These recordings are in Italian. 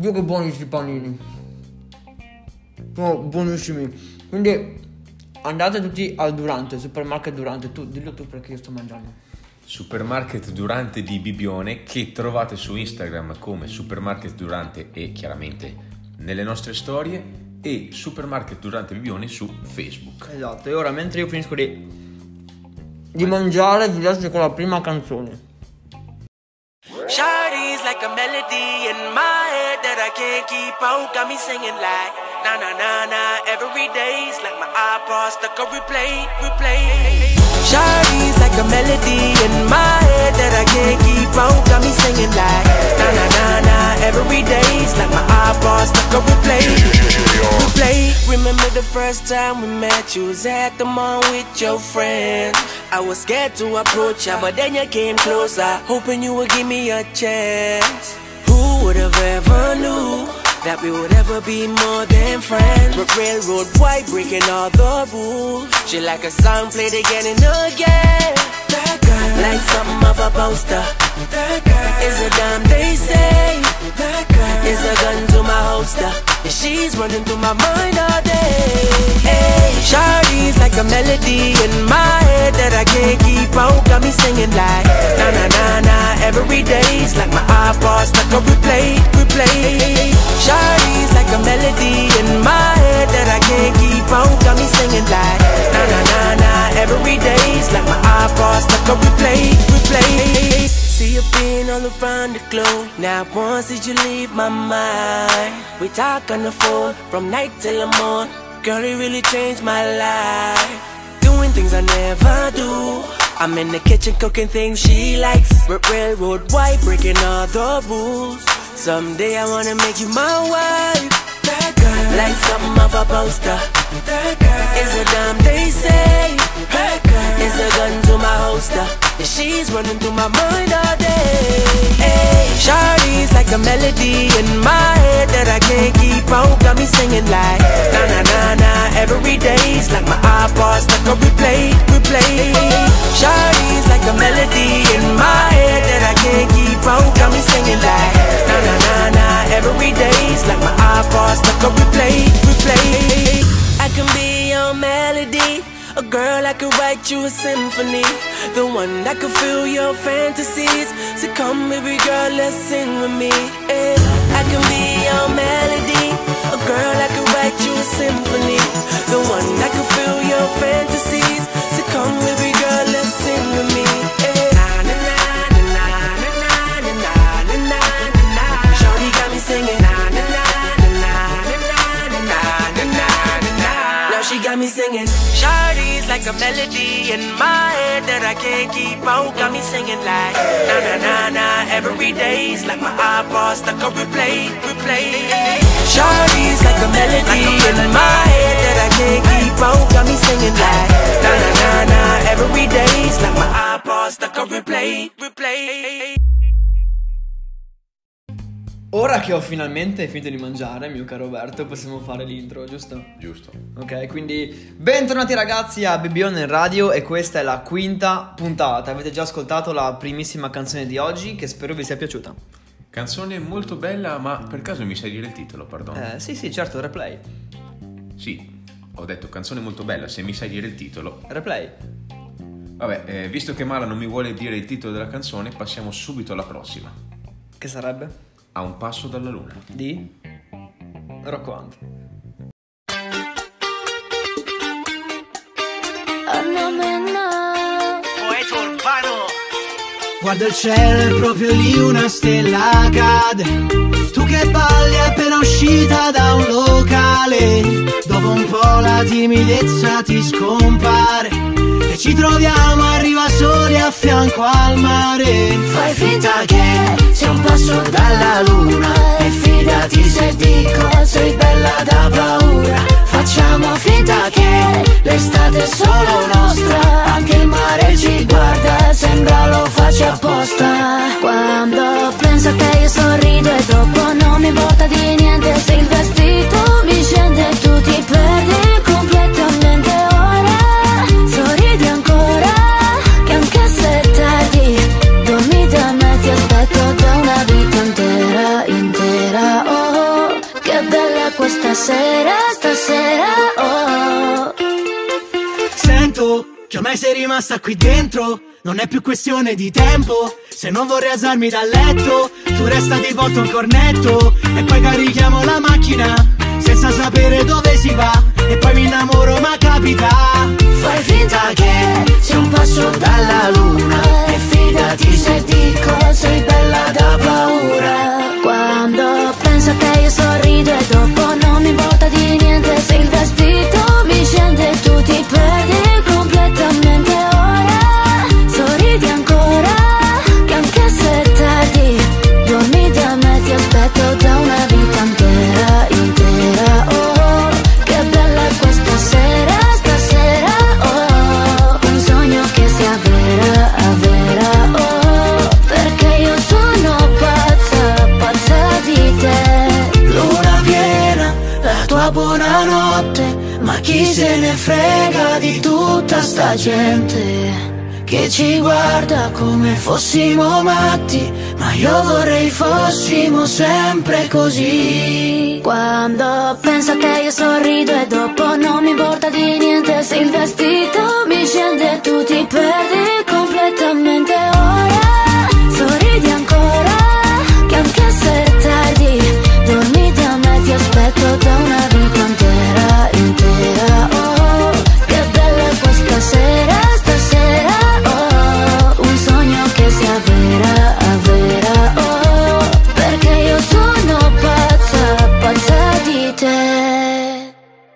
Dio che buoni questi panini. Sono buonissimi. Quindi andate tutti al Durante, Supermarket Durante. Tu, dillo tu perché io sto mangiando. Supermarket Durante di Bibbione, che trovate su Instagram come Supermarket Durante e chiaramente nelle nostre storie, e Supermarket Durante Bibbione su Facebook. Esatto, e ora mentre io finisco di mangiare vi lascio con la prima canzone. Shawty's like a melody in my head that I can't keep out. Got me singing like na na na na every day's like my iPod stuck on replay. Shawty's like a melody in my head that I can't keep out. Got me singing like na na na na every day's like my iPod stuck on replay. Remember the first time we met? You was at the mall with your friends. I was scared to approach ya, but then you came closer, hoping you would give me a chance. Who would have ever knew that we would ever be more than friends? But railroad white, breaking all the rules. She like a song played again and again. That girl, like something off a poster. That girl is a dime, they say. That girl is a gun to my holster. And she's running through my mind all day. Hey, Shawty's like a melody in my head that I can't keep out. Got me singing like na na na na every day's like my iPod stuck on replay. Shawty's like a melody in my head that I can't keep out. Got me singing like na na na na every day's like my iPod stuck on replay. See you being all around the globe. Now once did you leave my mind? We talk on the phone from night till the morn. Girl, it really changed my life. Doing things I never do. I'm in the kitchen cooking things she likes. Railroad white, breaking all the rules. Someday I wanna make you my wife. That girl, like something off a poster. That girl is a dime, they say. That girl is a gun to my holster. And she's running through my mind all day. Hey, Shawty's like a melody in my head that I can't keep out. Got me singing like na na na na every day's like my iPod stuck on replay. Shawty's like a melody in my head that I can't keep out. Got me singing like na na na na every day's like my iPod stuck on replay. I can be your melody. A girl, I could write you a symphony. The one that could fill your fantasies. So come baby girl, let's sing with me. I can be your melody. A girl, I could write you a symphony. The one that could fill your fantasies. So come baby girl, let's sing with me. Shawty got me singing. Now she got me singing. Shawty's like a melody in my head that I can't keep out. Got me singing like na na na na every day's like my iPod stuck on replay. Shawty's like a melody in my head that I can't keep out. Got me singing like na na na na every day's like my iPod stuck on replay. Ora che ho finalmente finito di mangiare, mio caro Roberto, possiamo fare l'intro, giusto? Giusto. Ok, quindi bentornati ragazzi a Bibbione Radio e questa è la quinta puntata. Avete già ascoltato la primissima canzone di oggi che spero vi sia piaciuta. Canzone molto bella, ma per caso mi sai dire il titolo, perdono? Sì, certo, Replay. Sì, ho detto canzone molto bella, se mi sai dire il titolo. Replay. Vabbè, visto che Mala non mi vuole dire il titolo della canzone, passiamo subito alla prossima. Che sarebbe? A un passo dalla luna. Di Rocco Hunt. Poeta urbano. Guarda il cielo, è proprio lì una stella cade. Tu che balli appena uscita da un locale. Dopo un po' la timidezza ti scompare e ci troviamo a riva soli a fianco al mare. Fai finta che sia un passo dalla luna e fidati se dico sei bella da paura. Facciamo finta che l'estate è solo nostra, anche il mare ci guarda, sembra lo faccia apposta. Quando penso a te io sorrido e dopo non mi importa di niente. Se il vestito mi scende e tu ti perdi completamente. Ora sorridi ancora, che anche se è tardi dormi da me, ti aspetto da una vita intera. Oh. detto che ormai sei rimasta qui dentro. Non è più questione di tempo. Se non vorrei alzarmi dal letto, tu resta ti porto un cornetto e poi carichiamo la macchina senza sapere dove si va. E poi mi innamoro ma capita. Fai finta che sia un passo dalla luna e fidati se dico sei bella da paura. Quando penso a te io sorrido e dopo non mi importa di niente. Se il vestito mi scende e tu ti perdi completamente. Ora sorridi ancora, che anche se è tardi dormi da me, ti aspetto da una vita intera, intera. Oh, che bella è questa sera, stasera. Oh, un sogno che sia vera, vera. Oh, perché io sono pazza, pazza di te. Luna piena, la tua buonanotte, ma chi se ne frega di tutta sta gente che ci guarda come fossimo matti, ma io vorrei fossimo sempre così. Quando penso a te io sorrido e dopo non mi importa di niente. Se il vestito mi scende e tu ti perdi completamente. Ora sorridi ancora, che anche se è tardi dormi da me, ti aspetto da una vita intera, intera. Oh, che bella è questa sera, stasera. Oh, un sogno che sia vera, vera. Oh, perché io sono pazza, pazza di te.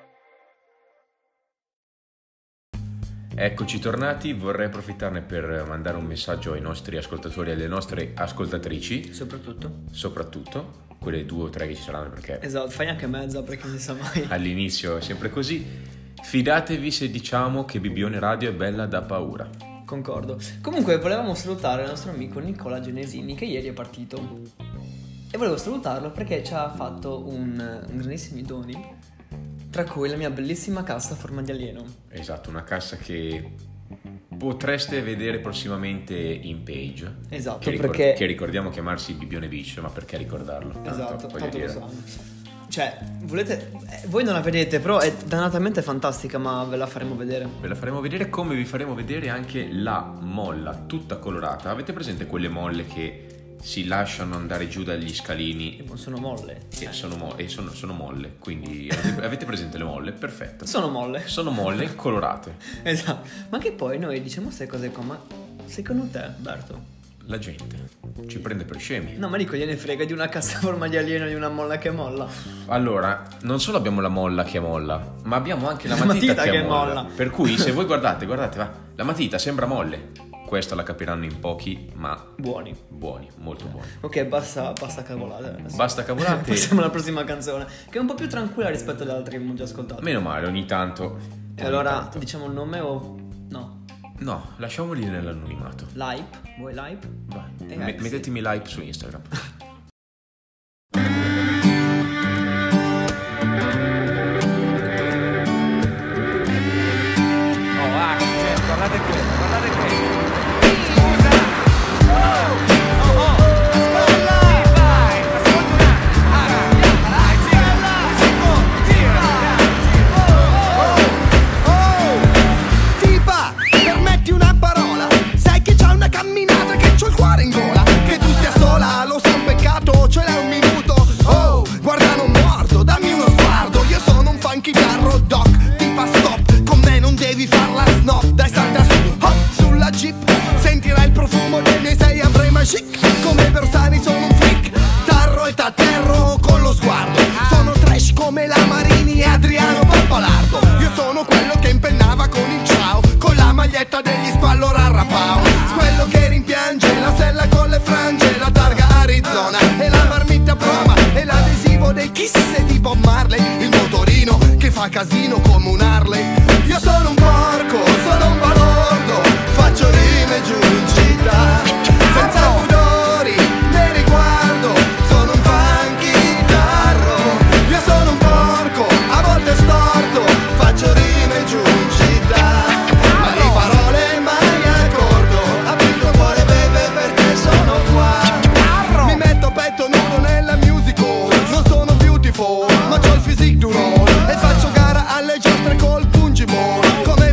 Eccoci tornati, vorrei approfittarne per mandare un messaggio ai nostri ascoltatori e alle nostre ascoltatrici, soprattutto quelle 2 o 3 che ci saranno, perché Esatto, fai anche mezza perché non si sa mai. all'inizio è sempre così. Fidatevi se diciamo che Bibione Radio è bella da paura. Concordo. Comunque volevamo salutare il nostro amico Nicola Genesini che ieri è partito. E volevo salutarlo perché ci ha fatto un grandissimi doni, tra cui la mia bellissima cassa a forma di alieno. Esatto, una cassa che potreste vedere prossimamente in page. Esatto, che ricordiamo chiamarsi Bibione Beach, ma perché ricordarlo? Esatto, voglio tanto lo dire. sanno. Cioè, volete... voi non la vedete, però è dannatamente fantastica, ma ve la faremo vedere. Ve la faremo vedere, come vi faremo vedere anche la molla tutta colorata. Avete presente quelle molle che si lasciano andare giù dagli scalini? Sono molle. Sono molle, quindi avete presente le molle? Perfetto. Sono molle. Sono molle colorate. Esatto. Ma che poi noi diciamo queste cose qua, ma secondo te, Berto? La gente ci prende per scemi. No, ma dico, gliene frega di una cassa a forma di alieno, di una molla che molla. Allora, non solo abbiamo la molla che molla, ma abbiamo anche la matita che molla. Per cui se voi guardate, va, la matita sembra molle. Questa la capiranno in pochi, ma Buoni, molto buoni. Ok, basta cavolate adesso. Basta cavolate. Passiamo alla prossima canzone, che è un po' più tranquilla rispetto alle altre che abbiamo già ascoltato. Meno male, ogni tanto. E allora diciamo il nome o no? No, lasciamoli nell'anonimato. Lipe? Vuoi Lipe? Vai, mettetemi like su Instagram. Guardate qui. Tipa, permetti una parola. Sai che c'ha una camminata, che c'ho il cuore in gola. Che tu stia sola, lo sa un peccato, ce l'hai un minuto. Oh, guarda non mordo, dammi uno sguardo. Io sono un funky carro doc, tipa stop. Con me non devi farla snob. Dai salta su, hop, sulla jeep. Sentirai il profumo dei miei 6 Avrema chic. Come Bersani sono un freak, tarro e t'atterro con lo sguardo. Sono trash come la Marini e Adriano Pappalardo. Io sono quello che impennava con il ciao, con la maglietta degli Spallo Rarrapao. Quello che rimpiange la stella con le frange, la targa Arizona e la marmitta prova e l'adesivo dei Kiss e di Bob Marley. Il motorino che fa casino come un Harley. Io sono un porco, sono un balordo, faccio rime giù in città, senza pudori ne riguardo, sono un funky tarro. Io sono un porco, a volte storto, faccio rime giù in città, ma di parole mai accorto, apri il tuo cuore bebe perché sono qua. Mi metto a petto nudo nella musical, non sono beautiful, ma c'ho il physique du roll, e faccio gara alle giostre col pungi ball. Come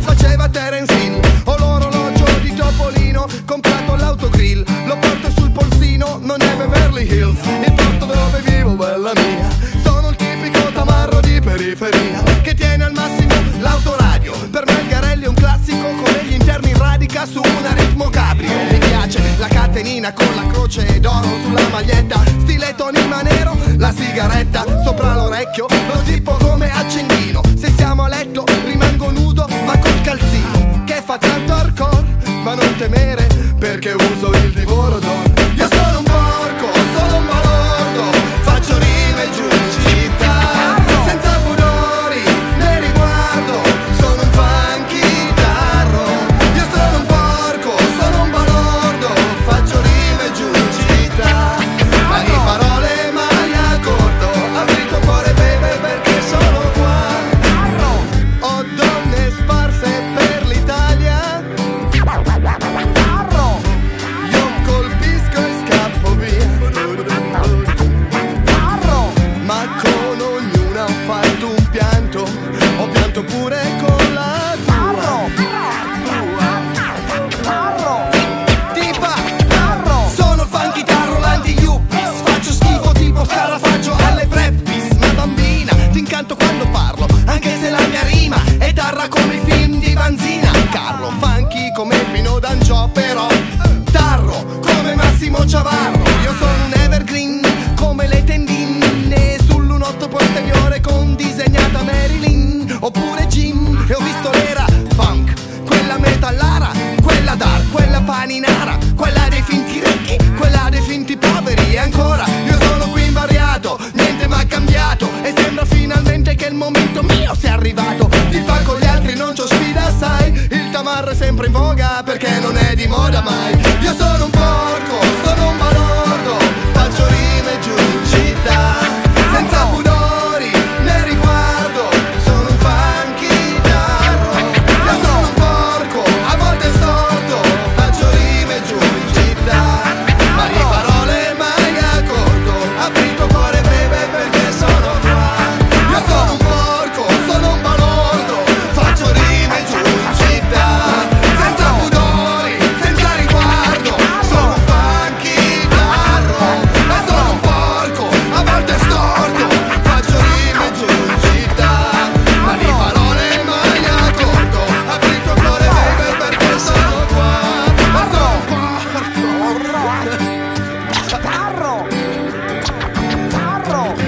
Hills, il posto dove vivo, bella mia. Sono il tipico tamarro di periferia che tiene al massimo l'autoradio. Per me il Garelli è un classico, come gli interni radica su un ritmo cabrio. Mi piace la catenina con la croce d'oro sulla maglietta, stile Tony Manero, la sigaretta sopra l'orecchio, lo zippo come accendino. Se siamo a letto rimango nudo ma col calzino, che fa tanto hardcore, ma non temere perché uso il divoro d'oro. Io sono un porco, sono un balordo, faccio rime giù in città, senza pudori né riguardo, sono un funky tarro. Io sono un porco, sono un balordo, faccio rime giù in città, ma di parole mai a corto, apri il tuo cuore baby perché sono qua. Ho donne sparse per l'Italia, io colpisco e scappo via, ma con ognuna ho fatto un pianto, ho pianto pure con la tua. Tipa, sono il funky tarro, l'anti-yuppies, faccio schifo tipo scarafaggio alle preppis. Ma bambina, ti incanto quando parlo, anche se la mia rima è darra come i film di Vanzina. Carlo, funky come Pino D'Angiò, però tarro come Massimo Ciavarro. Io sono un evergreen come le tendine sull'unotto posteriore con disegnata Marilyn, oppure Jim. E ho visto l'era punk, quella metallara, quella dark, quella paninara, quella dei finti ricchi, quella dei finti poveri. E ancora io sono qui invariato, niente m'ha cambiato, e sembra finalmente che il momento mio sia arrivato. Ti fa con gli altri, non c'ho sfida, sai, il tamarro è sempre in voga perché non è di moda mai. Io sono un porco, sono un balordo, faccio rime giù in città, senza pudori né riguardo, sono un funky tarro. Io sono un porco, a volte storto, faccio rime giù in città, ma di parole mai a corto, apri il tuo cuore baby perché sono qua. Io sono un porco, sono un balordo, faccio rime giù in città, senza pudori, senza riguardo, sono un funky tarro. Ma sono un porco, a volte storto, faccio rime giù in città, ma di parole mai a corto, apri il tuo cuore baby perché sono qua. Ma sono un porco tarro, tarro,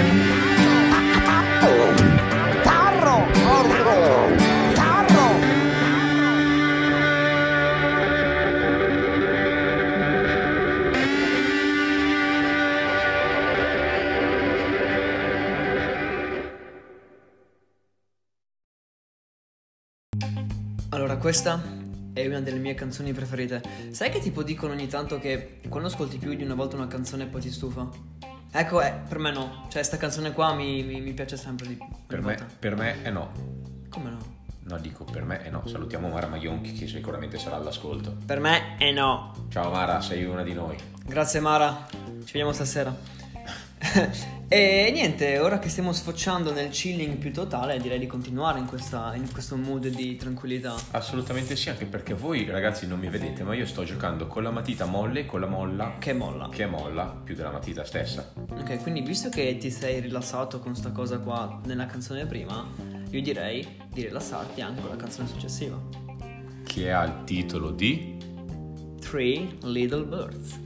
Allora, questa è una delle mie canzoni preferite. Sai che tipo dicono ogni tanto che quando ascolti più di una volta una canzone poi ti stufa? Ecco, per me no. Cioè, sta canzone qua mi piace sempre di più. Per me è no. Come no? No, dico per me è no. Salutiamo Mara Maionchi che sicuramente sarà all'ascolto. Per me è no. Ciao Mara, sei una di noi. Grazie Mara, ci vediamo stasera. E niente, ora che stiamo sfociando nel chilling più totale, direi di continuare in questo mood di tranquillità. Assolutamente sì, anche perché voi ragazzi non mi vedete, ma io sto giocando con la matita molle e con la molla Che molla. più della matita stessa. Ok, quindi visto che ti sei rilassato con sta cosa qua nella canzone prima, io direi di rilassarti anche con la canzone successiva, Che ha il titolo di Three Little Birds.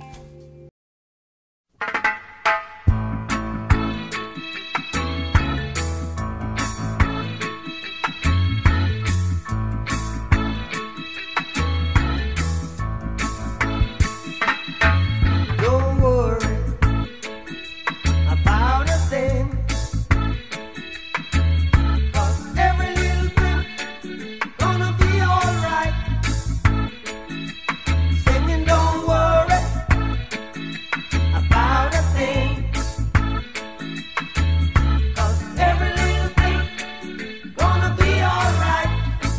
Don't worry about a thing, 'cause every little thing gonna be alright. Singing, don't worry about a thing, 'cause every little thing gonna be alright.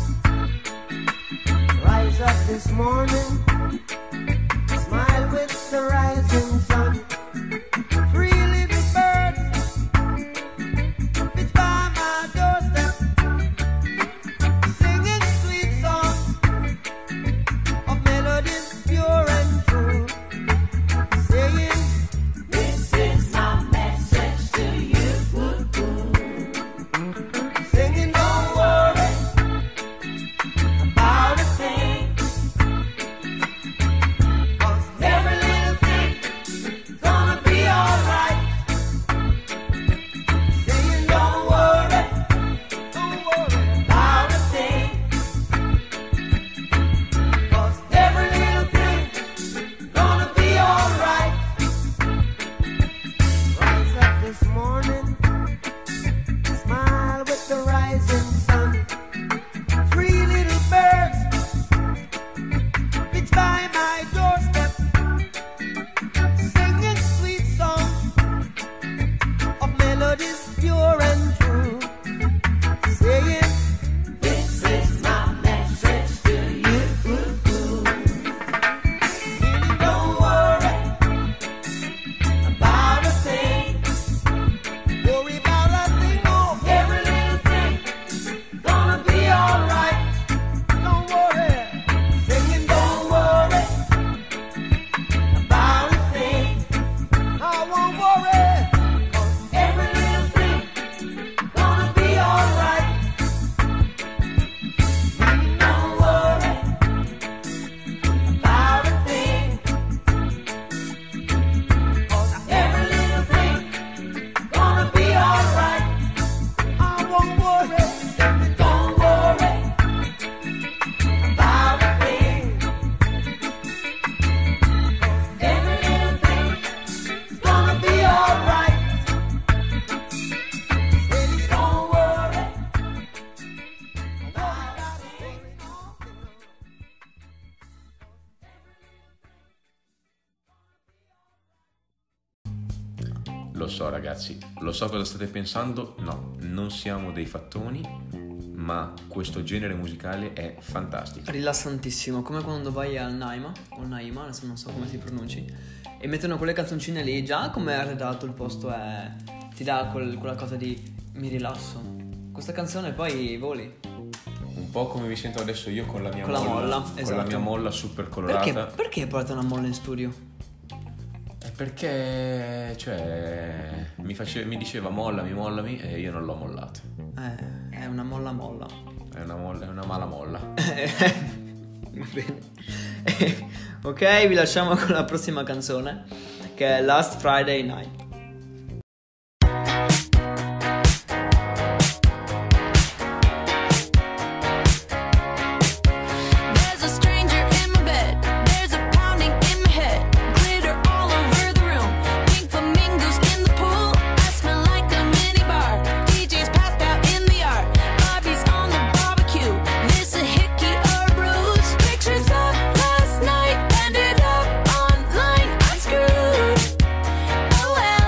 Rise up this morning, smile with the rising sun. Three little birds pitch by my doorstep, singing sweet songs of melodies pure and true, saying, listen Lo so ragazzi, lo so cosa state pensando. No, non siamo dei fattoni, ma questo genere musicale è fantastico. Rilassantissimo, come quando vai al Naima, o Naima, adesso non so come si pronunci, e mettono quelle canzoncine lì, già come è arredato il posto è... ti dà quella cosa di mi rilasso. Questa canzone poi voli. Un po' come mi sento adesso io con la mia Con la molla, con esatto. la mia molla super colorata. Perché porta una molla in studio? Perché, cioè, mi diceva mollami e io non l'ho mollato. È una molla. È una mala molla. Va bene. Ok, vi lasciamo con la prossima canzone, che è Last Friday Night. There's a stranger in my bed. There's a pounding in my head. Glitter all over the room. Pink flamingos in the pool. I smell like a minibar. DJ's passed out in the yard. Bobby's on the barbecue. This a hickey or a bruise. Pictures of last night ended up online. I'm screwed. Oh well.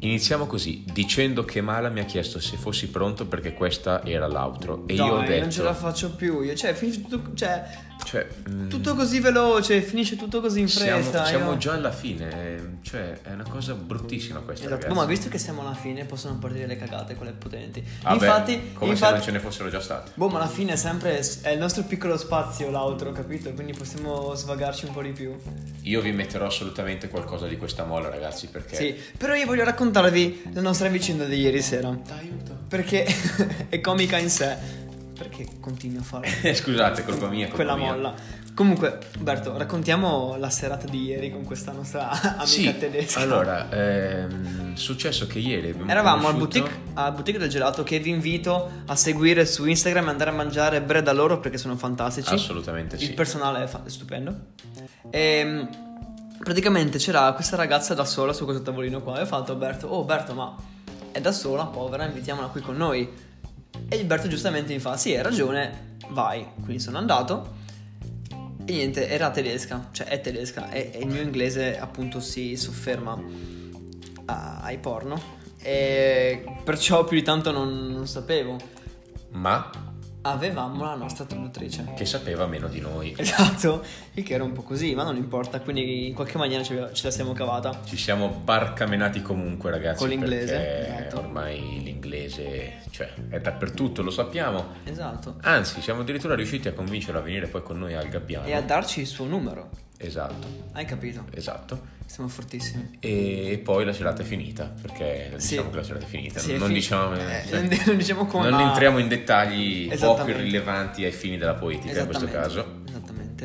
Iniziamo così, dicendo che Mala mi ha chiesto se fossi pronto perché questa era l'outro e io ho detto... non ce la faccio più io, finisce tutto, tutto così veloce, finisce tutto così in fretta. Siamo già alla fine, è una cosa bruttissima questa, esatto. ragazzi. Ma visto che siamo alla fine possono partire le cagate, quelle potenti. Infatti, se non ce ne fossero già state. Ma alla fine è il nostro piccolo spazio l'outro, capito? Quindi possiamo svagarci un po' di più. Io vi metterò assolutamente qualcosa di questa molla, ragazzi, perché... Sì, però io voglio raccontarvi la nostra vicenda di ieri sera. Aiuto. Perché è comica in sé. Perché continui a fare Scusate, colpa mia, quella molla. Comunque, Berto, raccontiamo la serata di ieri con questa nostra amica tedesca. Allora, successo che ieri eravamo al boutique del gelato, che vi invito a seguire su Instagram e andare a mangiare bread da loro perché sono fantastici. Assolutamente sì. Il personale è stupendo. E praticamente c'era questa ragazza da sola su questo tavolino qua e ho fatto a Berto, Berto, ma è da sola, povera, invitiamola qui con noi. E Gilberto giustamente mi fa: sì, hai ragione, vai. Quindi sono andato e niente, era tedesca, è tedesca e il mio inglese appunto si sofferma ai porno e perciò più di tanto non sapevo. Ma avevamo la nostra traduttrice che sapeva meno di noi. Esatto, il che era un po' così, ma non importa, quindi in qualche maniera ce la siamo cavata. Ci siamo barcamenati comunque, ragazzi, con l'inglese, perché esatto. Ormai l'inglese è dappertutto, lo sappiamo. Esatto. Anzi, siamo addirittura riusciti a convincerlo a venire poi con noi al Gabbiano e a darci il suo numero. Esatto. Hai capito? Esatto. Siamo fortissimi. E poi la serata è finita, perché diciamo che la serata è finita. Sì, non diciamo non diciamo come non entriamo in dettagli poco irrilevanti ai fini della poetica in questo caso. Esattamente,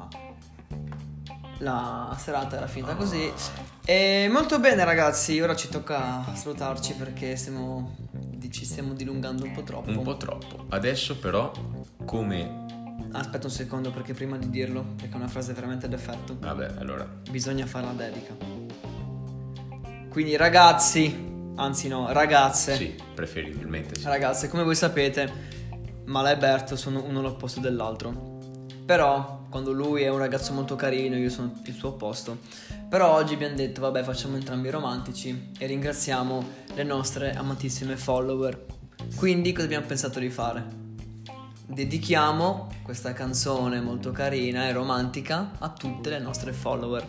la serata era finita così. E molto bene, ragazzi, ora ci tocca salutarci perché ci stiamo dilungando un po' troppo. Un po' troppo. Adesso però, come... Aspetta un secondo, perché prima di dirlo, perché è una frase veramente d'effetto. Vabbè, allora bisogna fare la dedica. Quindi ragazzi, anzi no, ragazze. Sì, preferibilmente sì. Ragazze, come voi sapete, Mala e Berto sono uno all'opposto dell'altro. Però quando lui è un ragazzo molto carino, io sono il suo opposto. Però oggi abbiamo detto, vabbè, facciamo entrambi romantici e ringraziamo le nostre amatissime follower. Quindi cosa abbiamo pensato di fare? Dedichiamo questa canzone molto carina e romantica a tutte le nostre followers.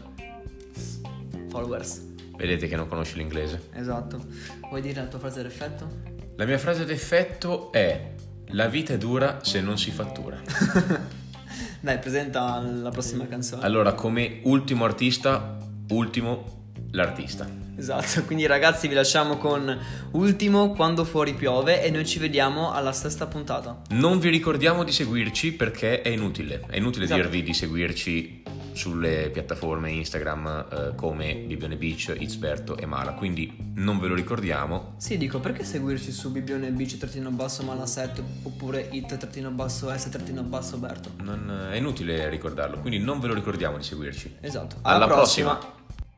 Vedete che non conosci l'inglese. Esatto. Vuoi dire la tua frase d'effetto? La mia frase d'effetto è: la vita è dura se non si fattura. Dai, presenta la prossima canzone. Allora, come ultimo artista, l'artista. Esatto, quindi ragazzi vi lasciamo con Ultimo, Quando fuori piove, e noi ci vediamo alla sesta puntata. Non vi ricordiamo di seguirci perché è inutile esatto. dirvi di seguirci sulle piattaforme Instagram come Bibbione Beach, Itzberto e Mala, quindi non ve lo ricordiamo. Sì, dico, perché seguirci su Bibbione Beach _Mala7 oppure it_s_Berto? È inutile ricordarlo, quindi non ve lo ricordiamo di seguirci. Esatto. Alla prossima.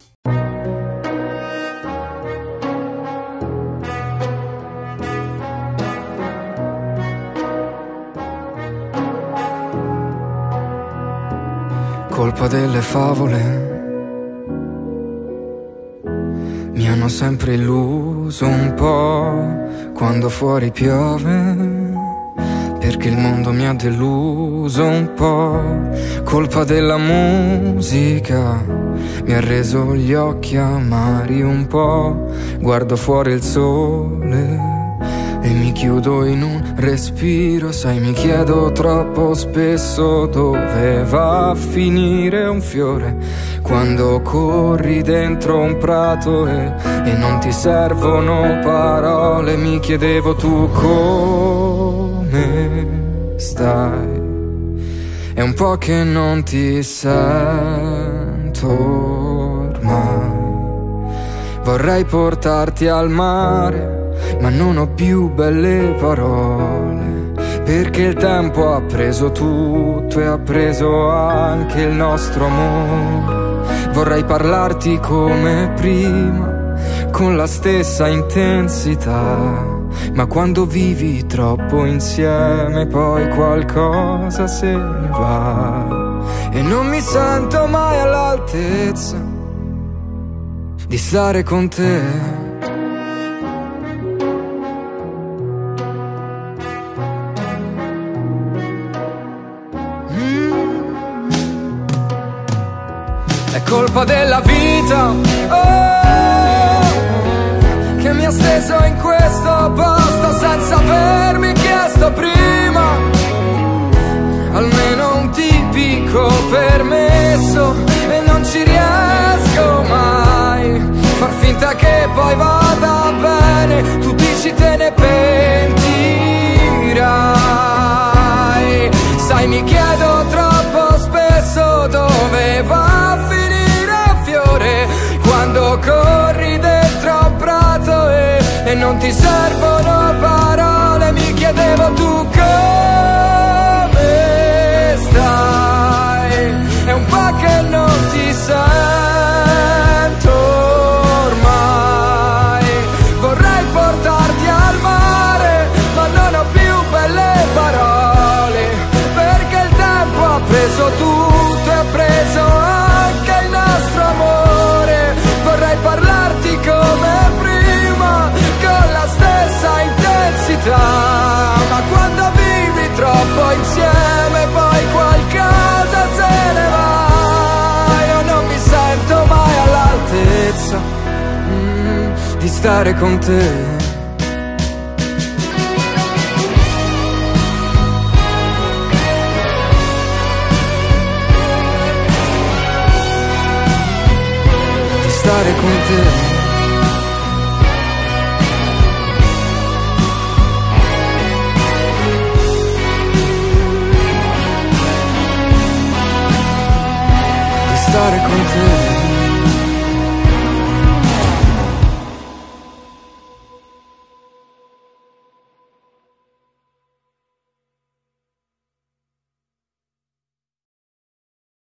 Colpa delle favole, mi hanno sempre illuso un po' quando fuori piove, perché il mondo mi ha deluso un po'. Colpa della musica, mi ha reso gli occhi amari un po'. Guardo fuori il sole e mi chiudo in un respiro, sai, mi chiedo troppo spesso dove va a finire un fiore quando corri dentro un prato e non ti servono parole. Mi chiedevo tu come stai, è un po' che non ti sento ormai, vorrei portarti al mare ma non ho più belle parole, perché il tempo ha preso tutto e ha preso anche il nostro amore. Vorrei parlarti come prima, con la stessa intensità, ma quando vivi troppo insieme poi qualcosa se ne va e non mi sento mai all'altezza di stare con te. colpa della vita, oh, che mi ha steso in questo posto senza avermi chiesto prima almeno un tipico permesso, e non ci riesco mai. Far finta che poi vada bene, tu dici te ne pentirai. Sai, mi chiedo troppo spesso dove va a finire un fiore quando corri dentro un prato e non ti servono parole. Mi chiedevo tu come stai, è un po' che non ti sento ormai. Vorrei portarti al mare ma non ho più belle parole, perché il tempo ha preso tutto e ha preso anche il nostro amore. Vorrei parlarti come prima con la stessa intensità, ma quando vivi troppo insieme poi qualcosa se ne va. Io non mi sento mai all'altezza di stare con te. Stare con te. Di stare con te.